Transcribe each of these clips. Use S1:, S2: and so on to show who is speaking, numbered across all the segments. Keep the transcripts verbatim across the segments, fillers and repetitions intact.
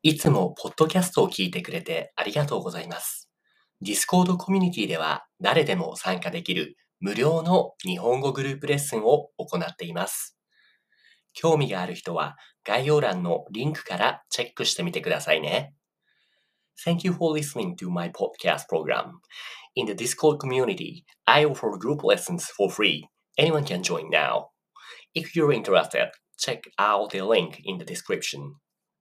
S1: いつもポッドキャストを聞いてくれてありがとうございます。Discord コミュニティでは誰でも参加できる無料の日本語グループレッスンを行っています。興味がある人は概要欄のリンクからチェックしてみてくださいね。Thank you for listening to my podcast program. In the Discord community, I offer group lessons for free. Anyone can join now. If you're interested, check out the link in the description.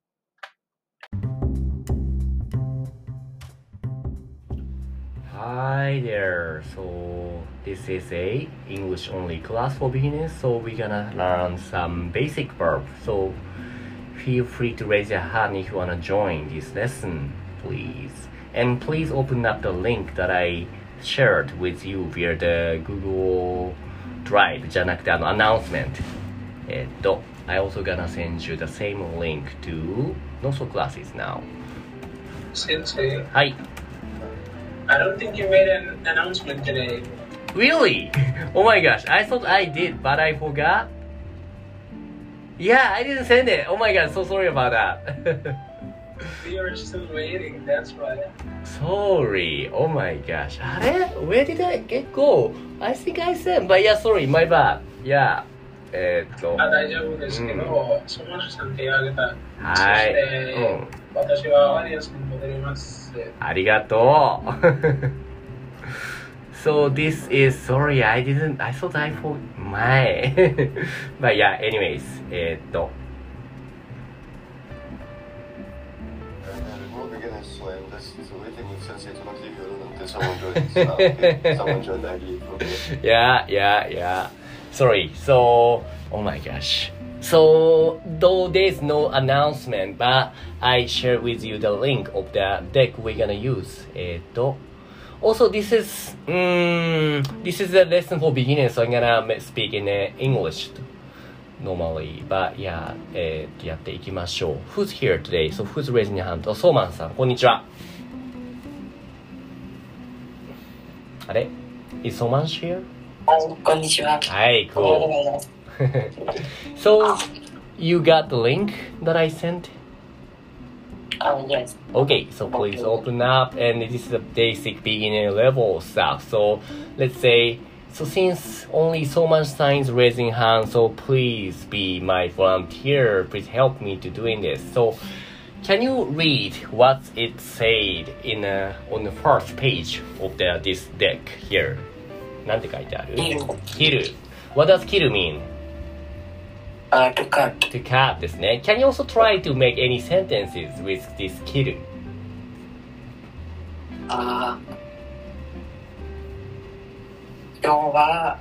S1: Hi there. So this is a English only class for beginners. So we're gonna learn some basic verbs. So feel free to raise your hand if you wanna join this lesson, please. And please open up the link that I shared with you via the Google Drive じゃなくてあの announcement. えっと I also gonna send you the same link to Noso classes now.
S2: Sensei.
S1: Hi.
S2: I don't think you made an announcement today.
S1: Really? Oh my gosh, I thought I did, but I forgot. Yeah, I didn't send it. Oh my god, so sorry about that.
S2: We are still waiting, that's why.
S1: Sorry. Oh my gosh. あれ Where did I get go? I think I sent, but yeah, sorry, my bad. Yeah. えー、っと。
S2: あ、大丈夫ですけど、うん、ソマシさん手を挙げた。
S1: はい。
S2: そして、うん、私はアリアスに戻ります。
S1: ありがとう。So this is sorry, I didn't, I thought I for my. But yeah, anyways, えー、っと。Yeah, yeah, yeah. Sorry. So, oh my gosh. So, though there's no announcement, but I share with you the link of the deck we're gonna use. えっと Also, this is, um, this is a lesson for beginners, so I'm gonna speak in English normally. But yeah, えっとやっていきましょう。Who's here today? So, who's raising your hand? ソーマンさん、こんにちは。あれ Is Soman here?
S3: こんにちは。
S1: はい、cool. So, you got the link that I sent?
S3: Oh, yes.
S1: Okay, so please open up, and this is the basic beginner level stuff. So, let's say, so since only so much times raising hand, so please be my volunteer. Please help me to doing this. So, can you read what it said in a, on the first page of the, this deck here? なんて書いてある
S3: Kill.
S1: What does kill mean?Uh,
S3: to cut.
S1: To cut ですね。Can you also try to make any sentences with this kill?
S3: あ、今日は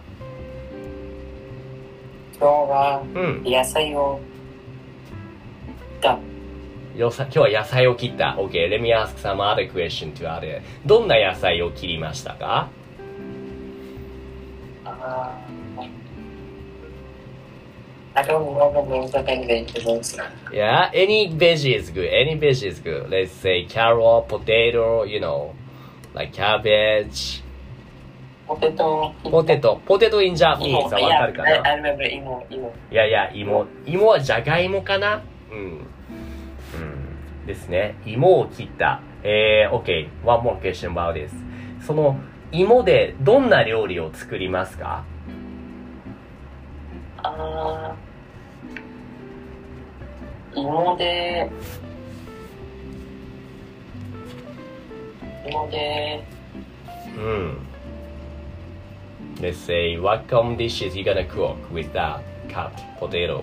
S3: 今日は野菜を切った。
S1: 今日は野菜を切った。Okay, let me ask some other question to other. どんな野菜を切りましたか？
S3: あI don't know the main vegetables.
S1: Yeah, any veggie is good. Any veggie is good. Let's say carrot, potato, you know, like cabbage.
S3: Potato.
S1: Potato. Potato in Japanese はわかるかな？
S3: I remember 芋、芋。
S1: いやいや、芋。芋はじゃがいもかな？うん。うん。ですね。芋を切った。えー、OK. One more question about this. その芋でどんな料理を作りますか？
S3: あー、芋で、芋で、
S1: うん。Let's say, what common dishes you gonna cook with that cut potato?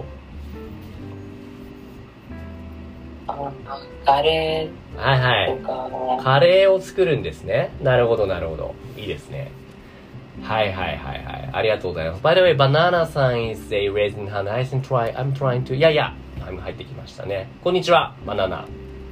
S3: あ、カレー
S1: はいはい。カレーを作るんですね。なるほどなるほど。いいですね。はいはいはいはい。ありがとうございます。By the way, Banana さん is a raising hand. I can try. I'm trying to. いやいや。入ってきましたね。こんにちは、バナナ。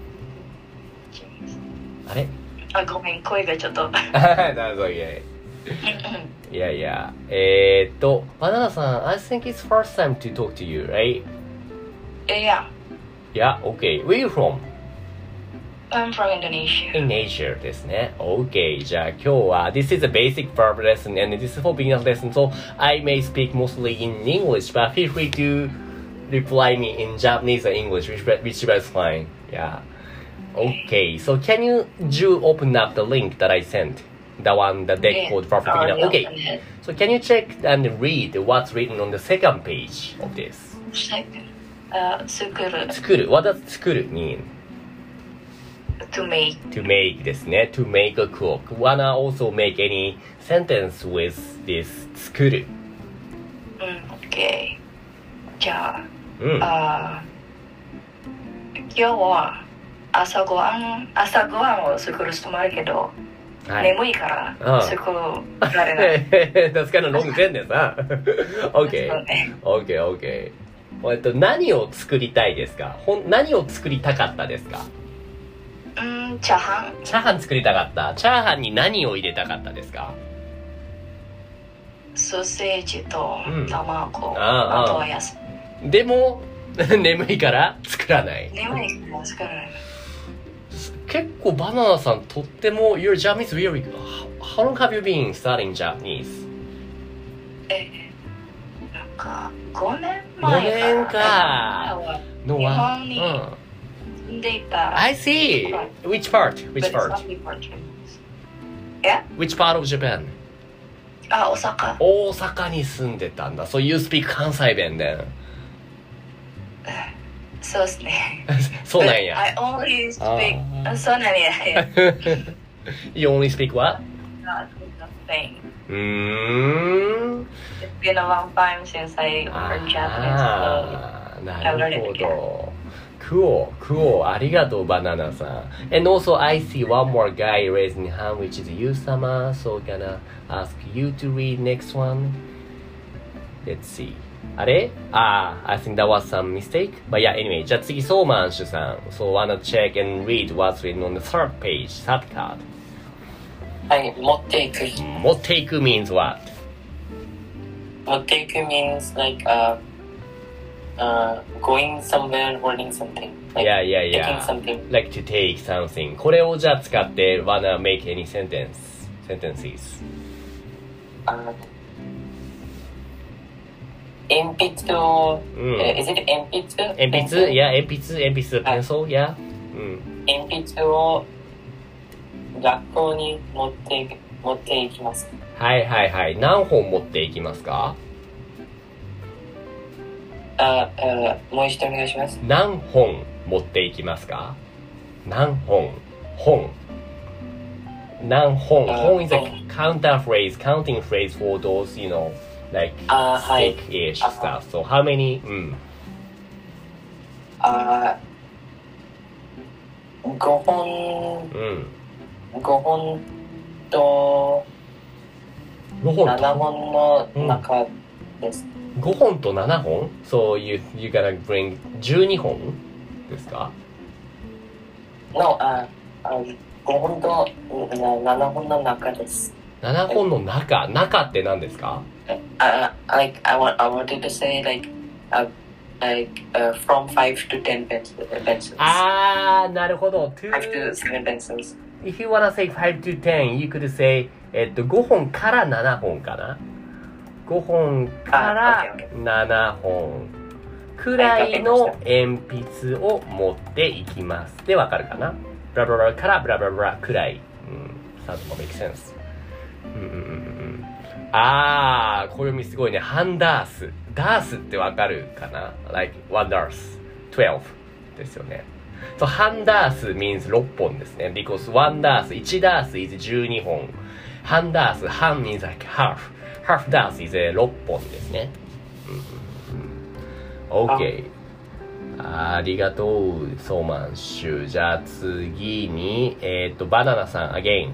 S1: あれ
S3: あ、ごめん、声がちょっと。
S1: なるほど、いやいや。いやいや。えーっと、バナナさん、I think it's first time to talk to you, right?
S3: Yeah.
S1: Yeah, okay. Where are you from?
S3: I'm from Indonesia.
S1: Indonesia ですね。Okay. じゃあ今日は This is a basic verb lesson and this is for beginners lesson. So I may speak mostly in English, but feel free to reply me in Japanese or English, which whichever is fine. Yeah. Okay, so can you do open up the link that I sent? The one that they called Perfect Beginner. Okay, so can you check and read what's written on the second page of this?
S3: Uh, 作る。
S1: 作る。What does 作る mean?
S3: To make.
S1: To make ですね。To make a cook. Wanna also make any sentence with this 作る。
S3: うん、OK。じゃあ、
S1: うん。
S3: あ今日は朝ごはん、朝ごはんを作る人もあるけど、
S1: はい、
S3: 眠いから作られない。
S1: That's kind of long sentence, huh? Okay. Okay, okay. えっと、何を作りたいですか？ほん何を作りたかったですか？
S3: うん、チャーハン。
S1: チャーハン作りたかった。チャーハンに何を入れたかったですか？
S3: ソーセージと卵、うん、
S1: ああとは野菜。でも眠いから作らない。
S3: 眠いから作らない。
S1: 結構バナナさんとっても Your Japanese very good. How long have you been studying Japanese?
S3: え、なんかごねんまえ
S1: ごねんか。
S3: の日本に住んでいた。
S1: I see. Which part? Which part?
S3: Yeah?
S1: Which part of Japan?
S3: あ、大阪。
S1: 大阪に住んでたんだ。So you speak 関西弁then?
S3: そうですね。
S1: そうなんや。
S3: I only speak. そうなんや。
S1: You only speak what?
S3: Not nothing.
S1: うーん。
S3: It's been a long time since I learned Japanese.
S1: ああ、なるほど。Cool, cool. ありがとう、バナナさん。And also, I see one more guy raising hand, which is you-sama. So, gonna ask you to read next one. Let's see. あれああ、I think that was some mistake. But yeah, anyway. じゃあ次、ソーマンシュさん。So, wanna check and read what's written on the third page, third card.
S4: はい、持っていく。
S1: 持っていく means what?
S4: 持っていく means like, uh, uh, going somewhere, holding something. Like
S1: yeah, yeah, yeah.
S4: Taking something.
S1: Like to take something. これをじゃあ使って、wanna make any sentence, sentences.
S4: あ鉛筆を、うん、uh, is it 鉛筆
S1: 鉛筆 Yeah, 鉛筆、鉛筆、pencil, yeah. うん。
S4: 鉛筆を学校に持って持っていきます。
S1: はいはいはい。何本持っていきますか？
S4: あ、あ、もう一度お願いします。
S1: 何本持っていきますか？何本本何本本 is a counter phrase, counting phrase for those, you know, like stick-ish stuff. So how many? うん。
S4: あ、ごほん。うん。ごほんと
S1: ごほんと
S4: ななほんの中です。
S1: うん、ごほんとななほん So you, you gotta bring じゅうにほんですか
S4: ?No, あ、ごほんとななほんの中です。
S1: ななほんの中中って何ですか
S4: uh, like, I, want, I wanted to say like, uh, like uh, from five to ten pencils.
S1: あー、なるほど。
S4: five to seven pencils.
S1: If you wanna say five to ten, you could say えっとごほんからななほんかなごほんからななほんくらいの鉛筆を持っていきますでわかるかなブラブラブラからブラブラブラくらい、うん、sounds more make sense、うんうんうん、あー小読みすごいねハンダースダースってわかるかな like oneダースtwelveですよねSo, 半ダース means ろっぽんですね。because one ダース、いちダース is じゅうにほん。半ダース、半 means like half. half ダース is ろっぽんですね。うんうんうん、OK。ありがとう、ソーマンシュ。じゃあ次に、えっと、バナナさん、again。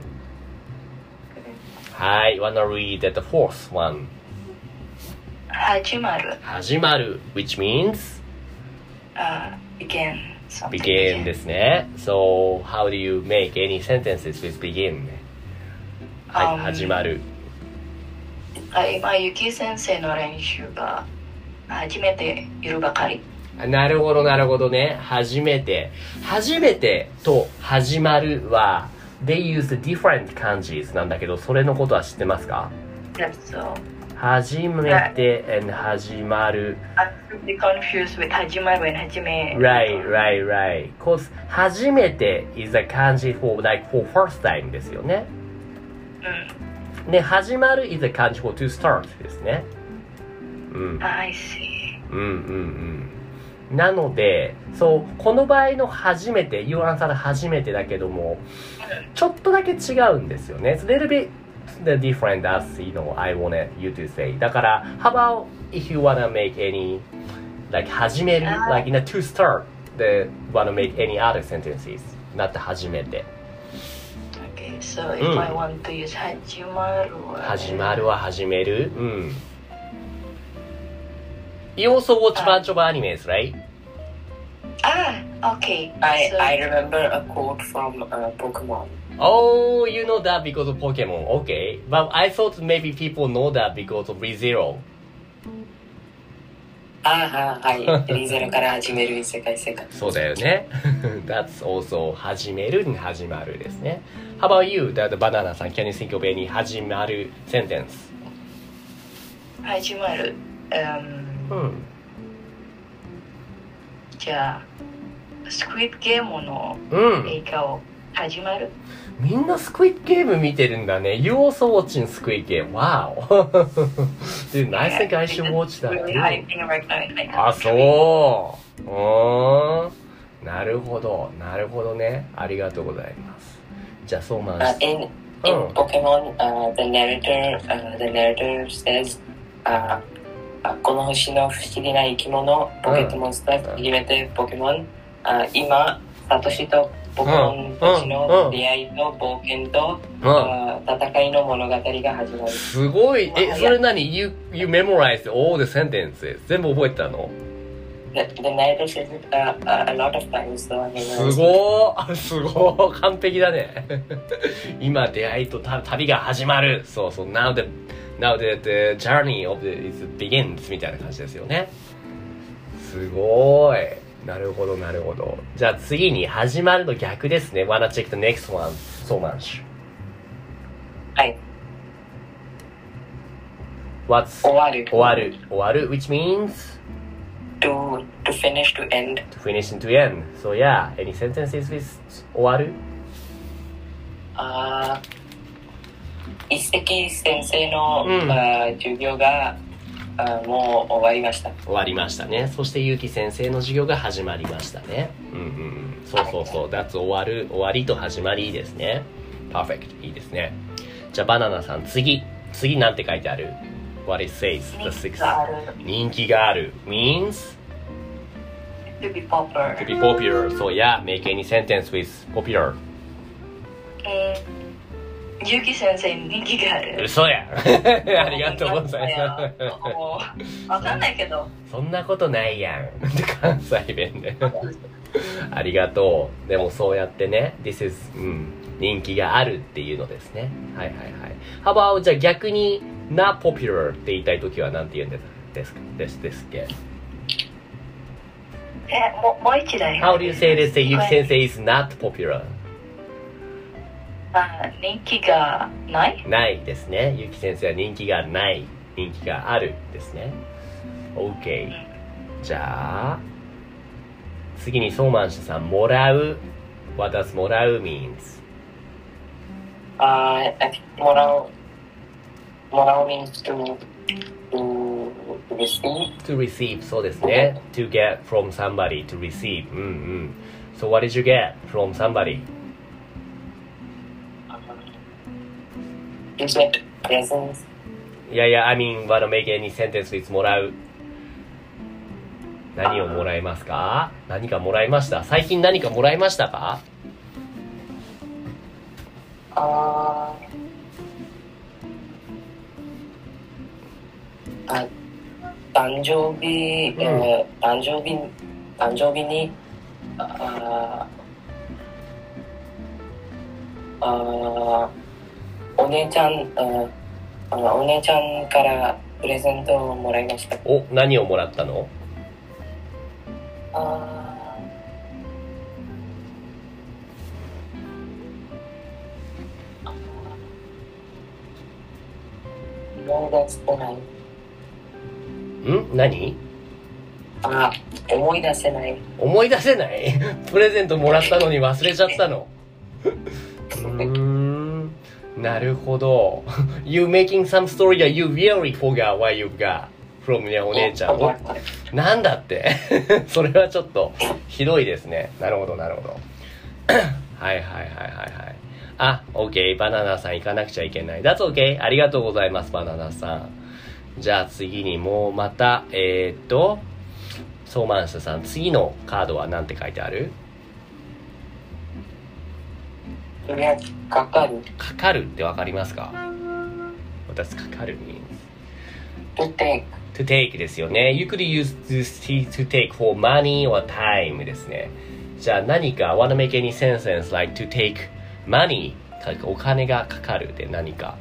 S1: はい、wanna read the fourth one.
S3: 始まる。
S1: 始まる、which means?
S3: Uh, begin.
S1: begin ですね。So, how do you make any sentences with begin? はい、um, 始まる。
S3: 今、ゆき先生の練習が初めているばかり。
S1: なるほど、なるほどね。初めて。初めてと始まるは、they use different 漢字なんだけど、それのことは知ってますか？
S3: Yes, so.
S1: 始めて and 始まる。
S3: I'm really confused with 始まる and 始め。
S1: Right, right, right. Cause 初めて is a 漢字 for like for first time ですよね。
S3: うん。
S1: で、始まる is a 漢字 for to start ですね。うん。
S3: I see.
S1: うんうんうん。なので、そう、この場合の初めて、You answer 初めてだけども、ちょっとだけ違うんですよね。It's a little bit the different as, you know, I wanted you to say. だから、how about if you wanna make any, like 始める、like in a to start, the wanna make any other sentences, not 初めて。
S3: Okay, so if、うん、I want to use 始まるは、
S1: 始まるは始める。うん。You also watch a bunch of animes, right?
S3: Ah, okay.
S4: I,
S3: so,
S4: I remember a quote from uh, Pokemon.
S1: Oh, you know that because of Pokemon. Okay. But I thought maybe people know that because of ReZero.
S4: ああ、はい。リゼロから始める異世界世界。
S1: そうだよね。That's also 始めるに始まるですね。How about you, the banana さん Can you think of any 始まる sentence?
S3: 始まる。Um,
S1: うん。
S3: じゃあ、スクイッドゲームの映画を始まる、
S1: うん、みんなスクイッドゲーム見てるんだね。You also watching Squid Game. Wow. Dude, I think I should watch that.
S3: Really hyping right now.
S1: あ、そう。うーん。なるほど。なるほどね。ありがとうございます。じゃあ、そうまん。
S4: Uh, in in、うん、Pokemon, uh, the narrator, uh, the narrator says, uh, この星の不思議な生き物、ポケットモンスター、初めてポケモン、あ今、サトシとポケモンたちの出会いと冒険と、うん、戦いの物語が始まる。
S1: すごい。え、それ何 you, you memorized all the sentences? 全部覚えたの
S4: The, the narrator says it a, a lot of times, so I memorized.
S1: すごーすごー完璧だね。今、出会いと旅が始まる。そうそう、now the Now the, the journey of the, it begins みたいな感じですよね。すごーい。なるほど、なるほど。じゃあ次に始まるの逆ですね。Wanna check the next one so much.
S4: はい。
S1: What's
S4: 終わる。
S1: 終わる。終わる which means?
S4: To, to finish, to end.
S1: To finish and to end. So yeah, any sentences with 終わる？
S4: あー。一石先生の、うん、授業がもう終わりました。
S1: 終わりましたね。そしてゆうき先生の授業が始まりましたね。うんうん。そうそうそう。That's 終わる、終わりと始まりですね。Perfect。いいですね。じゃあバナナさん、次。次なんて書いてある？ What it says? The sixth. 人気がある。Means?
S3: To be popular.
S1: To be popular. So yeah, make any sentence with popular.
S3: うんゆうき先生に人気がある。
S1: 嘘やありがとうござい
S3: ます。わかんないけど。
S1: そんなことないやん。関西弁で。ありがとう。でもそうやってね、This is、うん、人気があるっていうのですね。はいはいはい。How about じゃあ逆に not popular って言いたいときは何て言うんですかですですっけ？
S3: え、もうもう一台。
S1: How do you say this? ゆき先生 is not popular?
S3: あ、人気がない
S1: ないですね。ゆき先生は人気がない。人気があるですね。OK。じゃあ、次にソーマンシュさん、もらう。What does もらう means?
S4: あ、uh, I think もらう。もらう means to, to receive.
S1: To receive, そうですね。To get from somebody, to receive. うんうん。So what did you get from somebody?You
S4: get presents.
S1: Yeah, yeah, I mean, wanna make any sentence with もらう。何をもらいますか？何かもらいました？最近何かもらいましたか？
S4: ああ、誕生日、うん、えー、誕生日、誕生日に、ああ、お姉ちゃん、あお姉ちゃんからプレゼントをもらいました。
S1: お、何をもらったの？
S4: あ思い出せない。
S1: ん何
S4: あ、思い出せない。
S1: 思い出せないプレゼントもらったのに忘れちゃったのうーん、なるほど。You making some story that you really forgot what you got from ね、お姉ちゃん。おなんだってそれはちょっとひどいですね。なるほど、なるほど。はいはいはいはいはい。あ、OK。バナナさん行かなくちゃいけない。That's OK。ありがとうございます、バナナさん。じゃあ次にもうまた、えー、っと、ソーマンスさん、次のカードは何て書いてある？
S4: それはかかる。
S1: かかるってわかりますか？私、かかる means
S4: to take
S1: to take ですよね。You could use this to take for money or time ですね。じゃあ何か wanna make any sentence like to take money お金がかかるで何か。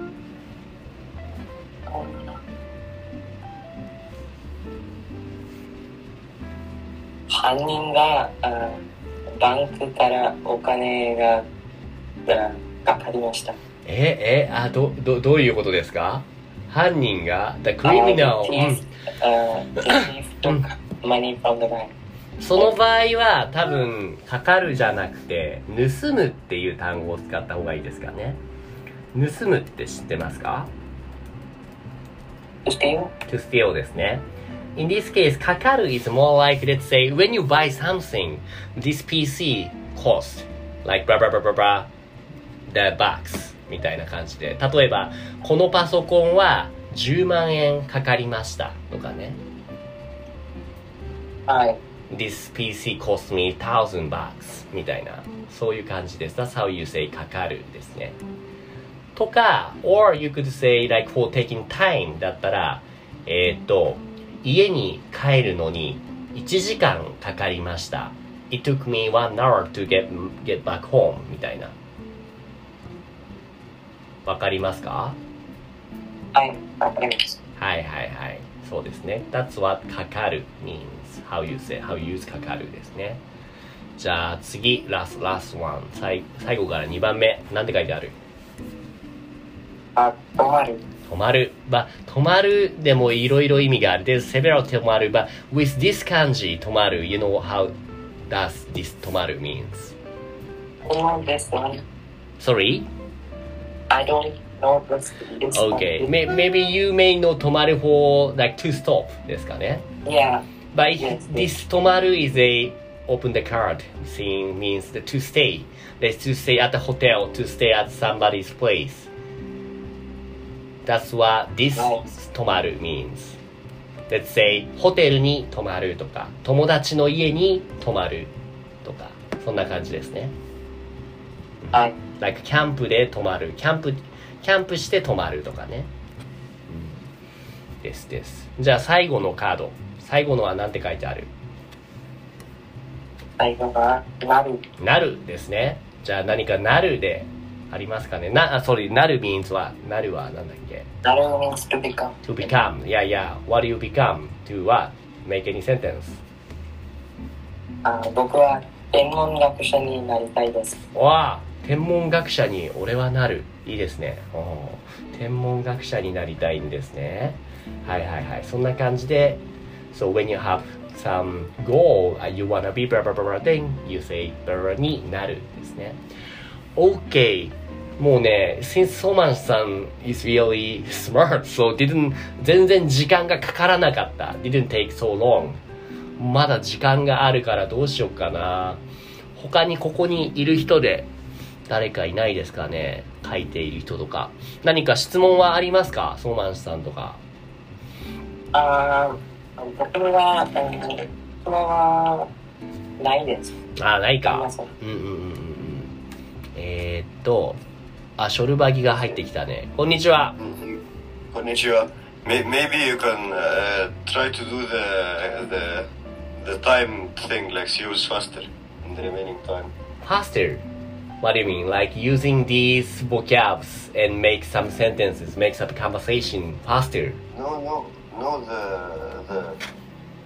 S4: 犯人があバンクからお金がかかりました。
S1: え、え、あ、ど、ど、どういうことですか？犯人が the criminal、
S4: uh, the thief, uh, the thief took money from the bank。
S1: その場合は多分かかるじゃなくて盗むっていう単語を使った方がいいですかね。盗むって知ってますか？
S4: To steal?
S1: To steal ですね。In this case, かかる is more like, let's say, when you buy something, this ピーシー cost, like, blah, blah, blah, blah, blah, the box みたいな感じで。例えば、このパソコンはじゅうまんえんかかりましたとかね。
S4: はい。
S1: This ピーシー cost me thousand bucks みたいな。そういう感じです。That's how you say かかるですね。とか、or you could say, like, for taking time だったら、えーっと、家に帰るのにいちじかんかかりました。It took me one hour to get, get back home みたいな。わかりますか？
S4: はい、わかります。
S1: はいはいはい。そうですね。That's what かかる means. How you say, how you use かかるですね。じゃあ次、last, last one. 最, 最後からにばんめ。なんて書いてある？
S4: あ、止まる。
S1: 止まる。ま、止まるでもいろいろ意味がある。There's several 止まる。But with this 漢字止まる、you know how does this 止まる means?
S4: Oh, this one.
S1: Sorry?
S4: I don't know this, this
S1: Okay.
S4: one.
S1: Maybe you may know 止まる for like to stop ですかね。
S4: Yeah.
S1: But
S4: Yes,
S1: this 止まる is a open the card thing means the to stay. Let's to stay at the hotel, to stay at somebody's place.That's what this 泊まる means. Let's say ホテルに泊まるとか友達の家に泊まるとかそんな感じですね。
S4: はい。
S1: Like キャンプで泊まる、キャンプキャンプして泊まるとかね。うん、ですです。じゃあ最後のカード、最後のは何て書いてある？
S4: 最後がなる。
S1: なるですね。じゃあ何かなるでありますかね。な、あ、sorry、なる means は、なるはなんだっけ？
S4: なる means to become.
S1: To become. Yeah, yeah. What do you become? To what? Make any sentence.
S4: あ、僕は天文学者になりたいです。
S1: わあ、天文学者に俺はなる。いいですね。お天文学者になりたいんですね。はいはいはい。そんな感じで、So when you have some goal, you wanna be blah blah blah blah, then you say blah になるですね。OK。もうね、since ソーマンさん is really smart, so didn't 全然時間がかからなかった。didn't take so long. まだ時間があるからどうしようかな。他にここにいる人で誰かいないですかね。書いている人とか。何か質問はありますか？ソーマンさんとか。
S4: あー、僕は、うん、質問はないです。
S1: あ、ないか。
S4: ありません。
S1: うんうんうんうん。えー、っと、あ、ショルバギが入ってきたね。こんにちは。
S5: こんにちは。Maybe you can、uh, try to do the, the, the time thing, like use faster in the remaining time.
S1: Faster? What do you mean? Like using these vocabs and make some sentences, make some conversation faster?
S5: No, no, no, the, the,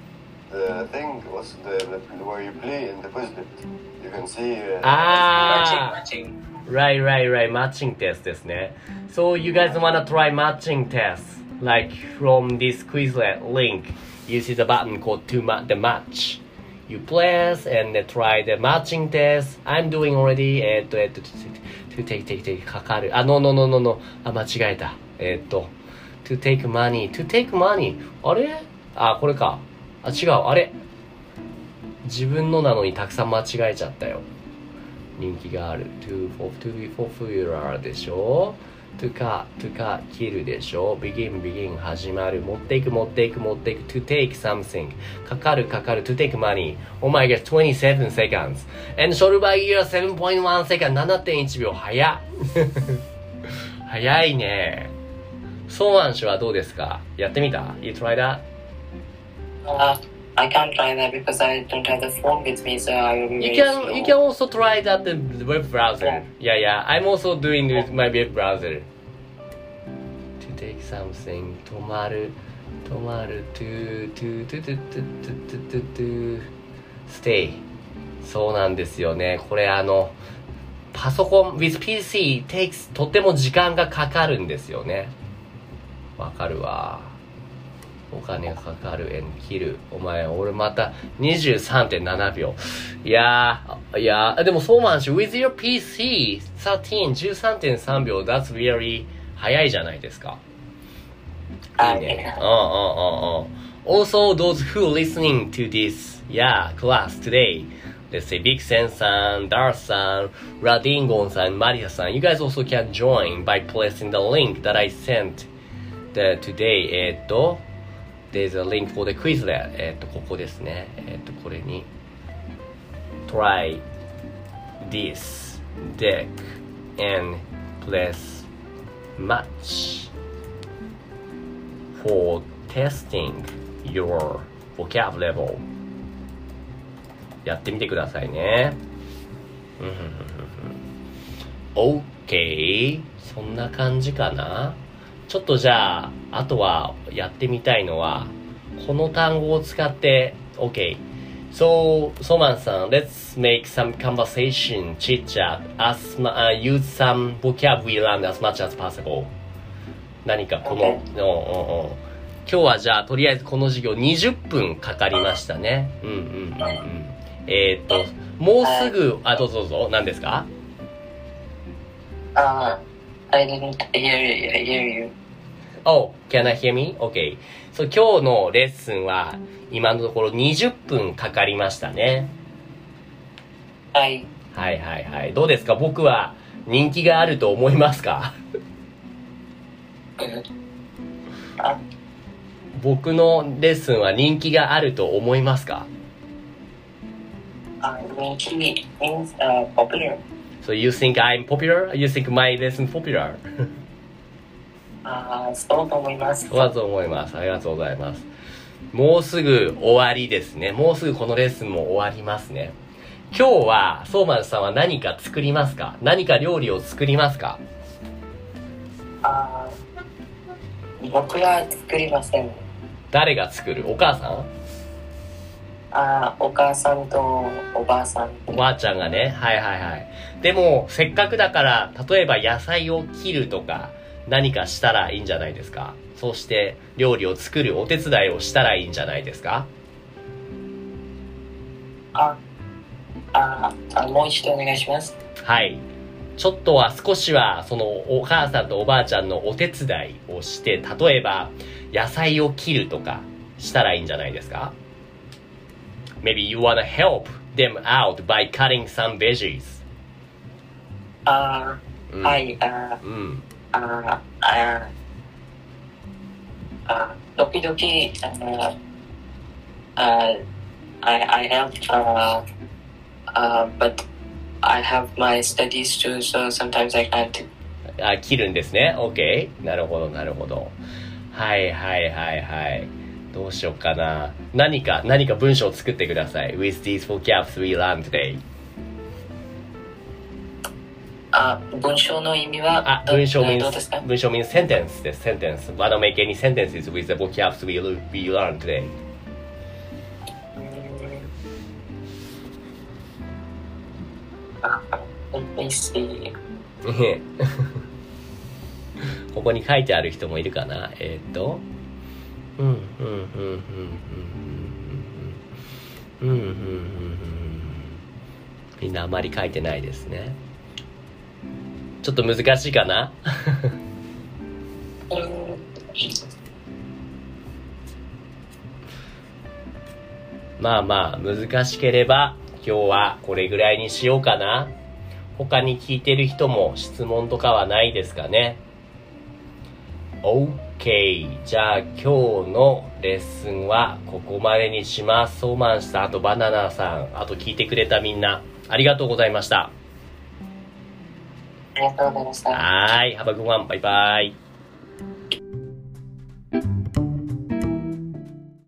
S5: the thing was the, the where you play in the Quizlet. You can see. Uh,
S1: Ah,
S2: matching.
S1: right, right, right. Matching test ですね。So you guys wanna try matching test? Like from this Quizlet link, you see the button called to ma- the match. You press and then try the matching test. I'm doing already. えっと、えっと、to take, take, take かかる。あ、no, no, no, no, no. あ、間違えた。えっと、to take money, to take money. あれ？あ、これか。あ、違う。あれ？自分のなのにたくさん間違えちゃったよ。人気がある。to, for, to be popular でしょ。to cut, to cut, 切るでしょ。begin, begin 始まる。持っていく、持っていく、持っていく。to take something かかる、かかる。to take money. Oh my god, twenty-seven seconds. And short by year seven point one second. ななてんいちびょう。早っ。早いね。ソーアン氏はどうですか？やってみた？ You try that?
S4: Uh, I can't try that because I don't have the phone with me, so I will be
S1: You
S4: very
S1: can
S4: slow.
S1: you can also try that the web browser. Yeah, yeah. I'm also doing with my web browser. To take something 止まる止まる to to to to to to to to stay. そうなんですよね。これあのパソコン with ピーシー takes とても時間がかかるんですよね。わかるわ。お金がかかる and 切る。お前、俺また にじゅうさんてんななびょう。いやー、いやー、でもそうなんし、with your ピーシー thirteen、じゅうさんてんさんびょう、that's very 早いじゃないですか。いいね。うんうんうんうん。Also, those who listening to this, yeah, class today, let's say Big Sen さん、Darth さん、Radingon さん、Maria さん、you guys also can join by pressing the link that I sent the today. えーっと、There's a link for the Quizlet. えっと、ここですね。えっと、これに Try this deck and press match for testing your vocab level. やってみてくださいね。OK。そんな感じかな。ちょっとじゃあ、あとはやってみたいのは、この単語を使って、OK。So, ソマンさん、let's make some conversation, chit chat, as, uh, use some vocab we learned as much as possible. 何かこの、うんうんうん。今日はじゃあ、とりあえずこの授業にじゅっぷんかかりましたね。うんうんうんうん。えー、っと、もうすぐ、あ、どうぞどうぞ、何ですか？
S4: Uh, I didn't hear, hear you.
S1: Oh, can I hear me? Okay. So, 今日のレッスンは今のところにじゅっぷんかかりましたね。
S4: はい。
S1: はいはいはい。どうですか？僕は人気があると思いますか？
S4: あ、
S1: 僕のレッスンは人気があると思いますか？
S4: あ、人気 means uh, popular.
S1: So you think I'm popular? You think my lesson popular?
S4: あ、そうと思います。
S1: そうだと思います。ありがとうございます。もうすぐ終わりですね。もうすぐこのレッスンも終わりますね。今日は、ソーマンさんは何か作りますか？何か料理を作りますか？
S4: あ、僕は作りません。
S1: 誰が作る？お母さん？
S4: あ、お母さんとおばあさん。
S1: おばあちゃんがね。はいはいはい。でも、せっかくだから、例えば野菜を切るとか、何かしたらいいんじゃないですか？そして、料理を作るお手伝いをしたらいいんじゃないですか？
S4: あ、あ、あ、もう一度お願いします。
S1: はい。ちょっとは少しは、そのお母さんとおばあちゃんのお手伝いをして、例えば、野菜を切るとか、したらいいんじゃないですか？ Maybe you wanna help them out by cutting some veggies.
S4: あ、
S1: うん、
S4: はい、あ、
S1: うん。
S4: あ、あ、あ、時々、あ、あ、I, I help, uh, uh, but I have my studies too, so sometimes I can't.
S1: あ、切るんですね。OK。なるほど、なるほど。はいはいはいはい。どうしようかな。何か、何か文章を作ってください。With these vocabs we learned today.
S4: あ、文章の意味は
S1: あ、文章 means
S4: どうですか？
S1: 文章 means sentence です。sentence. Wanna make any sentences with the vocabs we, we learned today?
S4: I see.
S1: ここに書いてある人もいるかな。えー、っと、うん、うん、うん、うん、うん、うん、うん、うん、うん。みんなあまり書いてないですね。ちょっと難しいかな。まあまあ、難しければ、今日はこれぐらいにしようかな。他に聞いてる人も質問とかはないですかね。OK。じゃあ今日のレッスンはここまでにします。ソーマンさん、あとバナナさん、あと聞いてくれたみんな、ありがとうございました。
S4: ありがとうございました。
S1: はい。Have a good one. バイバイ。